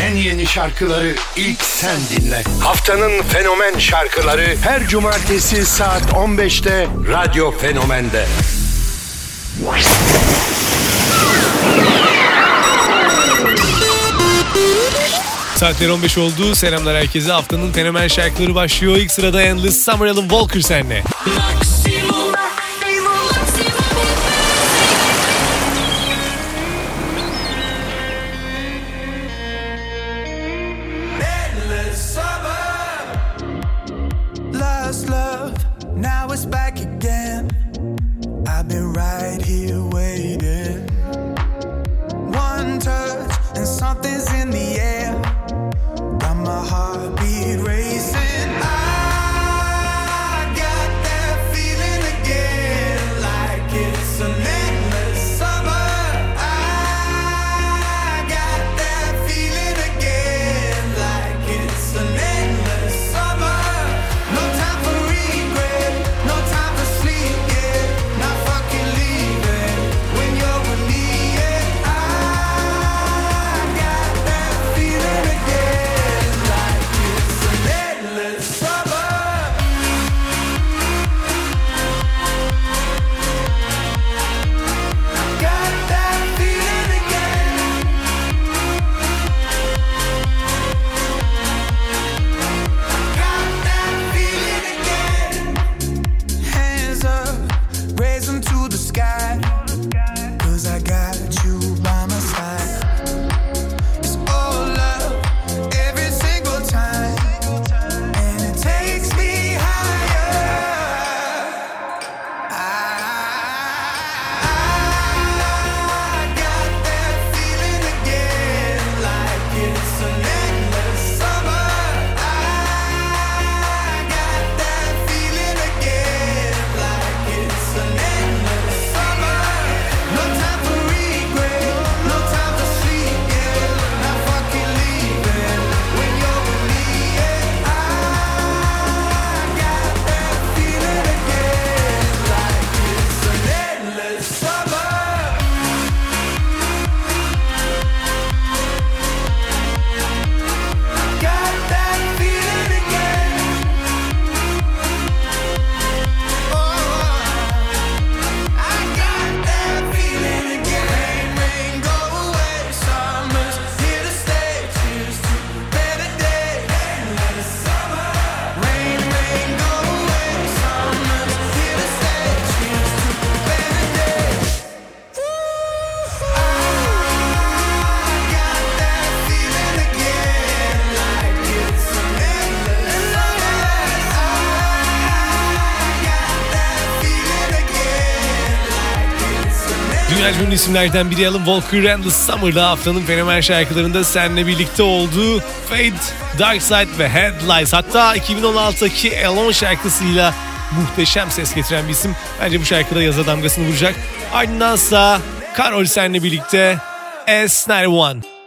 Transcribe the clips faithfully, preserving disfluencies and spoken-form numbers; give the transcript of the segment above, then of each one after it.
en yeni şarkıları ilk sen dinle. Haftanın fenomen şarkıları her cumartesi saat on beşte Radyo Fenomen'de. Saatler on beş oldu. Selamlar herkese. Haftanın fenomen şarkıları başlıyor. İlk sırada Endless Summer, Alan Walker senle. Now it's back again. I've been right here waiting. One touch and something's in the air. Got my heartbeat racing. I got that feeling again, like it's an endless summer. I got that feeling again, like it's an endless summer. No time for regret, no time for sleep, yeah. Not fucking leaving when you're with me, yeah. I got that feeling again, like it's an endless summer. Got that feeling again. Got that feeling again. Hands up, raise them to the sky. Cause I got you by my side. It's all love, every single time. And it takes me higher. I got that feeling again, like it's an endless summer. I got that feeling again, like it's an endless summer. No time for regret, no time for sleep, yeah. Not fucking leaving when you're with me, yeah. I got that feeling again, like it's an endless summer. Got that feeling again. Oh, I got that feeling again. Rain, rain, go away. Summer's here to stay. Cheers to a better day. Endless summer. Rain, rain, go away. Summer's here to stay. Cheers to a better day. I got that feeling again, like it's an endless summer. I got that feeling again, like it's an endless. Dünya ünlü isimlerden biri Alan Walker, Endless Summer'da haftanın fenomen şarkılarında seninle birlikte oldu. Fade, Dark Side ve Headlights. Hatta iki bin on altıdaki Alone şarkısıyla muhteşem ses getiren bir isim. Bence bu şarkıda yaza damgasını vuracak. Ardındansa Karol seninle birlikte S doksan bir.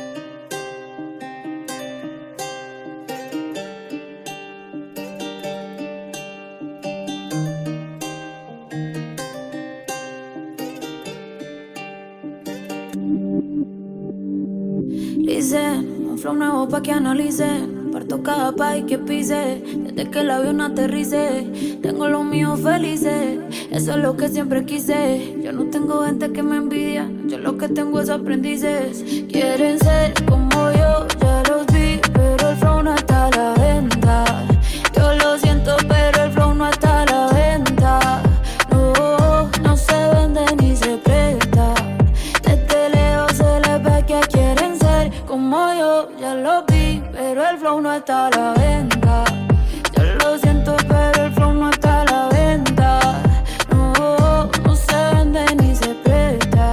Dicen, un flow nuevo pa' que analicen. Parto cada país que pise. Desde que el avión aterrice, tengo los míos felices. Eso es lo que siempre quise. Yo no tengo gente que me envidia. Yo lo que tengo es aprendices. Quieren ser como yo, ya los vi, pero el flow no está a la venta. Yo lo siento, pero el flow no está a la venta. No, no se vende ni se presta. Desde lejos se les ve que quieren ser como yo, ya lo vi, pero el flow no está a la venta. Yo lo siento, pero el flow no está a la venta. No, no se vende ni se presta.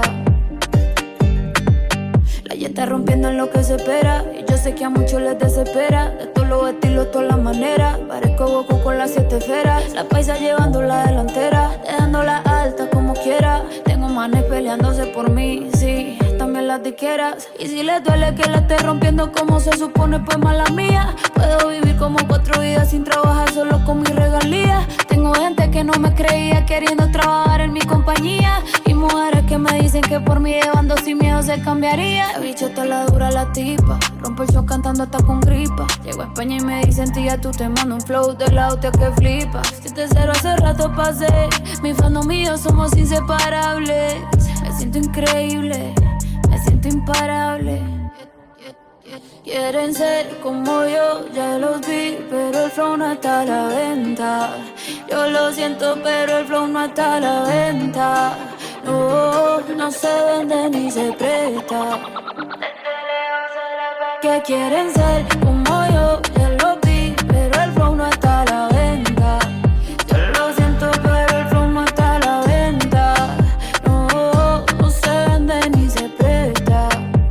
La ya está rompiendo en lo que se espera. Y yo sé que a muchos les desespera. De todos los estilos, todas las maneras. Parezco Goku con las siete esferas. La paisa llevando la delantera, dejándola alta como quiera. Tengo manes peleándose por mí, sí, también las diqueras. Y si les duele que la esté rompiendo como se supone, pues mala mía. Puedo vivir como cuatro vidas sin trabajar, solo con mis regalías. Tengo gente que no me creía queriendo trabajar en mi compañía. Y mujeres que que me dicen que por mí llevando sin miedo se cambiaría. La bichota la dura la tipa, rompo el show cantando hasta con gripa. Llego a España y me dicen tía, tú te mando un flow de la hostia que flipa. siete cero hace rato pasé, mi fandom y yo somos inseparables. Me siento increíble, me siento imparable. Quieren ser como yo, ya los vi, pero el flow no está a la venta. Yo lo siento, pero el flow no está a la venta. No, no se vende ni se presta. Que quieren ser como yo, ya los vi, pero el flow no está a la venta. Yo lo siento, pero el flow no está a la venta. No, no se vende ni se presta.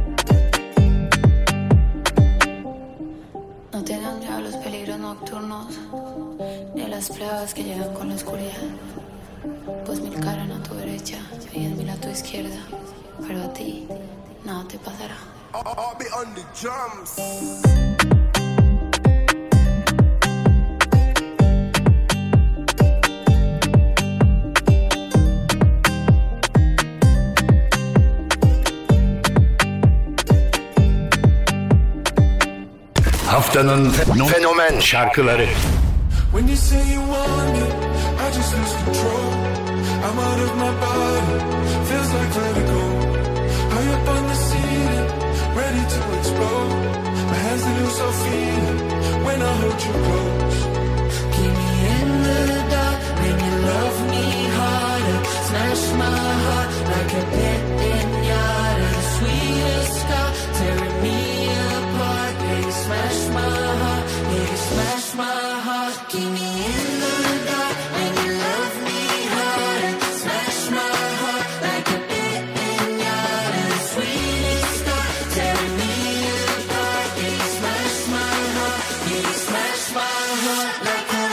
No tengan miedo a los peligros nocturnos, ni a las plagas que llegan con la oscuridad. Pues mil caras a tu derecha y diez mil a tu izquierda, pero a ti nada te pasará. I'll be on the drums. Haftanın fenomen şarkıları. When you say you want me, I just lose control. I'm out of my body, feels like vertigo. High up on the ceiling, ready to explode. My hands they lose all feeling when I hold you close. Keep me in the dark, make you love me harder. Smash my heart like a pit pinata. The sweetest scar, tearing me apart. Yeah, you smash my heart, yeah, you smash my heart. Keep me in the dark, make you love me harder. Smash my heart like a pit pinata. The sweetest scar, tearing me apart. Yeah, you smash my heart, yeah, you smash my heart like a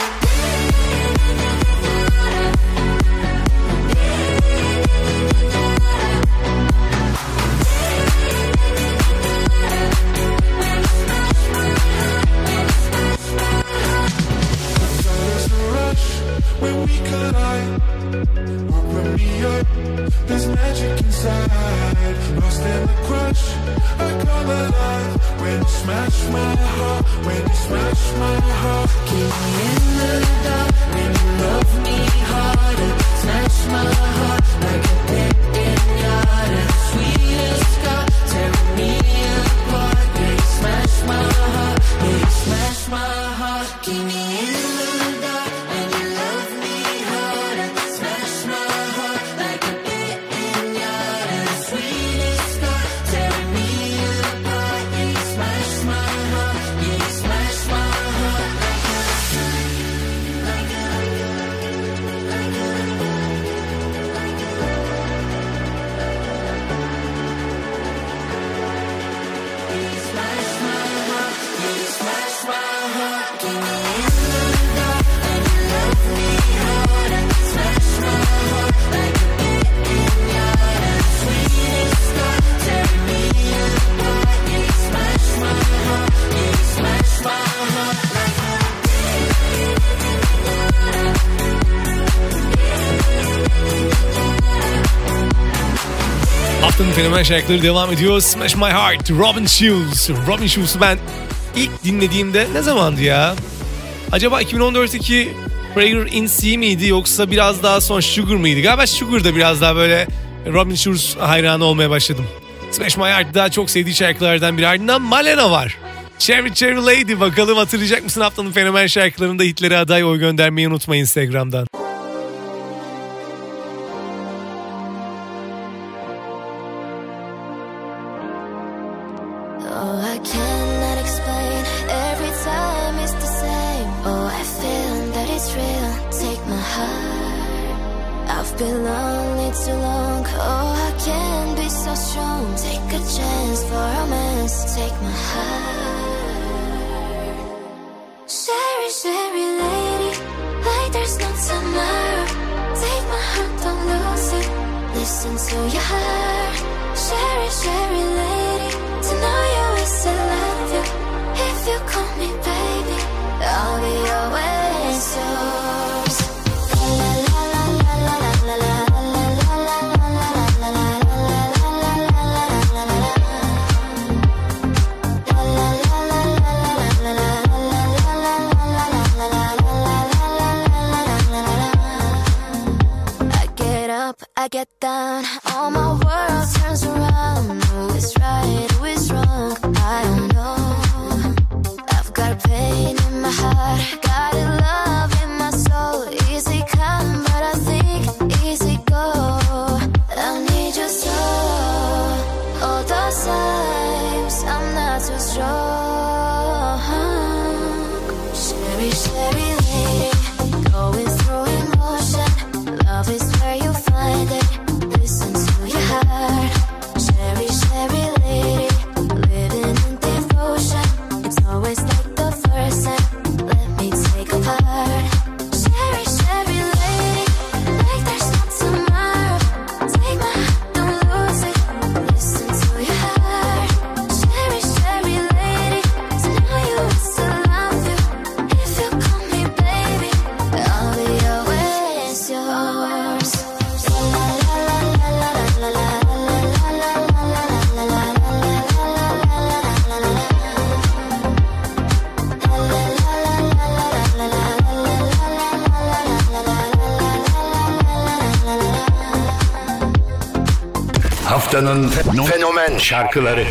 When we collide, open me up, there's magic inside. Lost in the crush, I come alive. When you smash my heart, when you smash my heart. keep me in the dark, when you love me harder. Smash my heart like a pit pinata. The sweetest scar, tearing me apart. Yeah, you smash my heart, yeah, you smash my heart. Keep me in the dark, when you love me harder. Smash my heart like a pit pinata. The sweetest scar, tearing me apart. Yeah, you smash my heart, yeah, you smash my heart like a, like a, like a, like a, yeah, you smash my heart, yeah, you smash my heart. Keep me in the dark, when you love me harder. Smash my heart like a pit pinata. The sweetest scar, tearing me apart. Yeah, you smash my heart, yeah, you smash my heart like a. Haftanın fenomen şarkıları devam ediyor. Smash My Heart, Robin Schulz. Robin Schulz'u ben ilk dinlediğimde ne zamandı ya? Acaba iki bin on dörtteki Prayer in C miydi yoksa biraz daha son Sugar mıydı? Galiba Sugar'da biraz daha böyle Robin Schulz hayranı olmaya başladım. Smash My Heart daha çok sevdiği şarkılardan biri. Ardından Malena var. Cherry Cherry Lady, bakalım hatırlayacak mısın haftanın fenomen şarkılarında hitlere aday oy göndermeyi unutma Instagram'dan. Oh, I cannot explain. Every time it's the same. Oh, I feel that it's real. Take my heart. I've been lonely too long. Oh, I can't be so strong. Take a chance for romance. Take my heart. Sherry, Sherry lady, like there's no tomorrow. Take my heart, don't lose it. Listen to your heart. Sherry, Sherry lady, to know you is I love you. If you call me baby, I'll be always yours. La la la la la la la la la la la la la la. too strong. Sherry, Sherry lady, going through emotion. Love is where you find it. Listen to your heart. Sherry, Sherry lady, living in devotion. It's always like the first time. Let me take a part. Sherry, Sherry lady, like there's no tomorrow. Take my heart, don't lose it. Listen to your heart. Sherry, Sherry lady, to know you is to love you. If you call me baby, I'll be always yours. La la la la la la la la la la la la la. Haftanın fenomen şarkıları.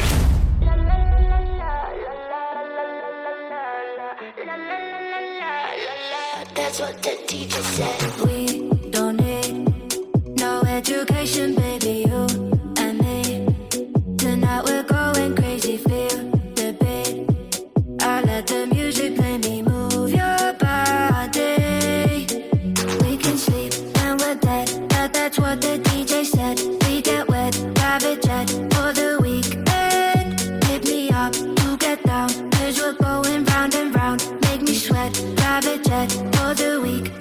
That's what the teacher said. We don't need no education, baby, you and me. Tonight we're going crazy, feel the beat. I let the music play me, move your body. We can sleep when we're dead, that, that's what the D J said. We get wet, private jet for the weekend. Hit me up to get down, cause we're going round and round. Make me sweat, private jet for the weekend.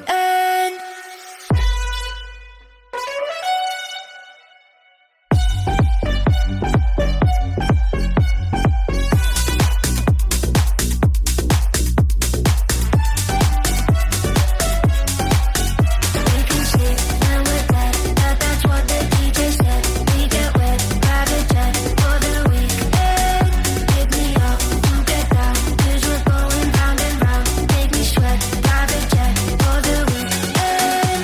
We can sleep when we're dead, that, that's what the D J said. We get wet, private jet for the weekend. Hit me up to get down, cause we're going round and round. Make me sweat, private jet for the weekend.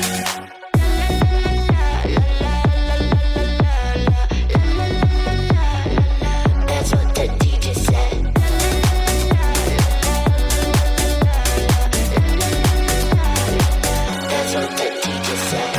That's what the D J said. That's what the D J said.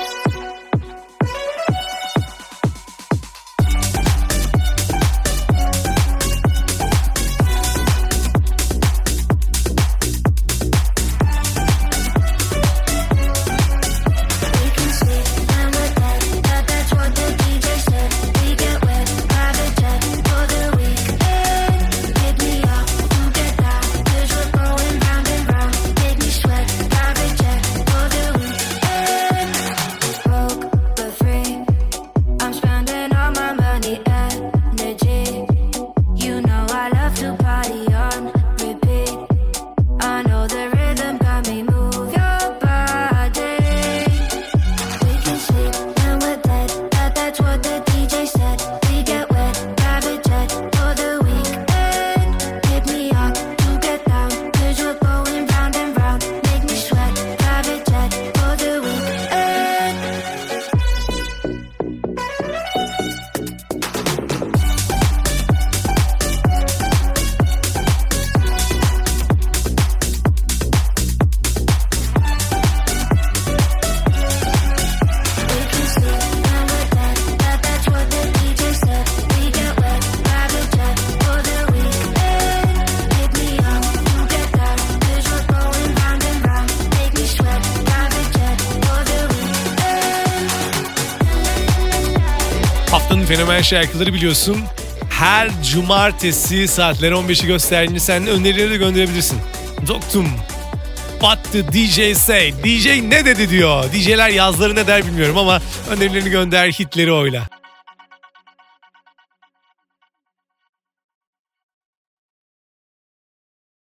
We can sleep when we're dead, that, that's what the D J said. We get wet, private jet for the weekend. Hit me up to get down, cause we're going round and round. Make me sweat, private jet for the weekend. Broke but free, I'm spending all my money, energy. You know I love to party on repeat. I know the rhythm got me, move your body. We can sleep when we're dead, that, that's what the D J said. We get wet, private jet for the weekend. Hit me up to get down, cause we're going round and round. Make me sweat, private jet for the weekend. We can sleep when we're dead, that, that's what the D J said. We get wet, private jet for the weekend. Hit me up to get down, cause we're going round and round. Make me sweat, private jet for the weekend. Haftanın fenomen şarkıları biliyorsun. Her cumartesi saatler on beşi gösterdiğinde sen önerileri de gönderebilirsin. Doktum. What the D J say? D J ne dedi diyor. D J'ler yazları ne der bilmiyorum ama önerilerini gönder, hitleri oyla.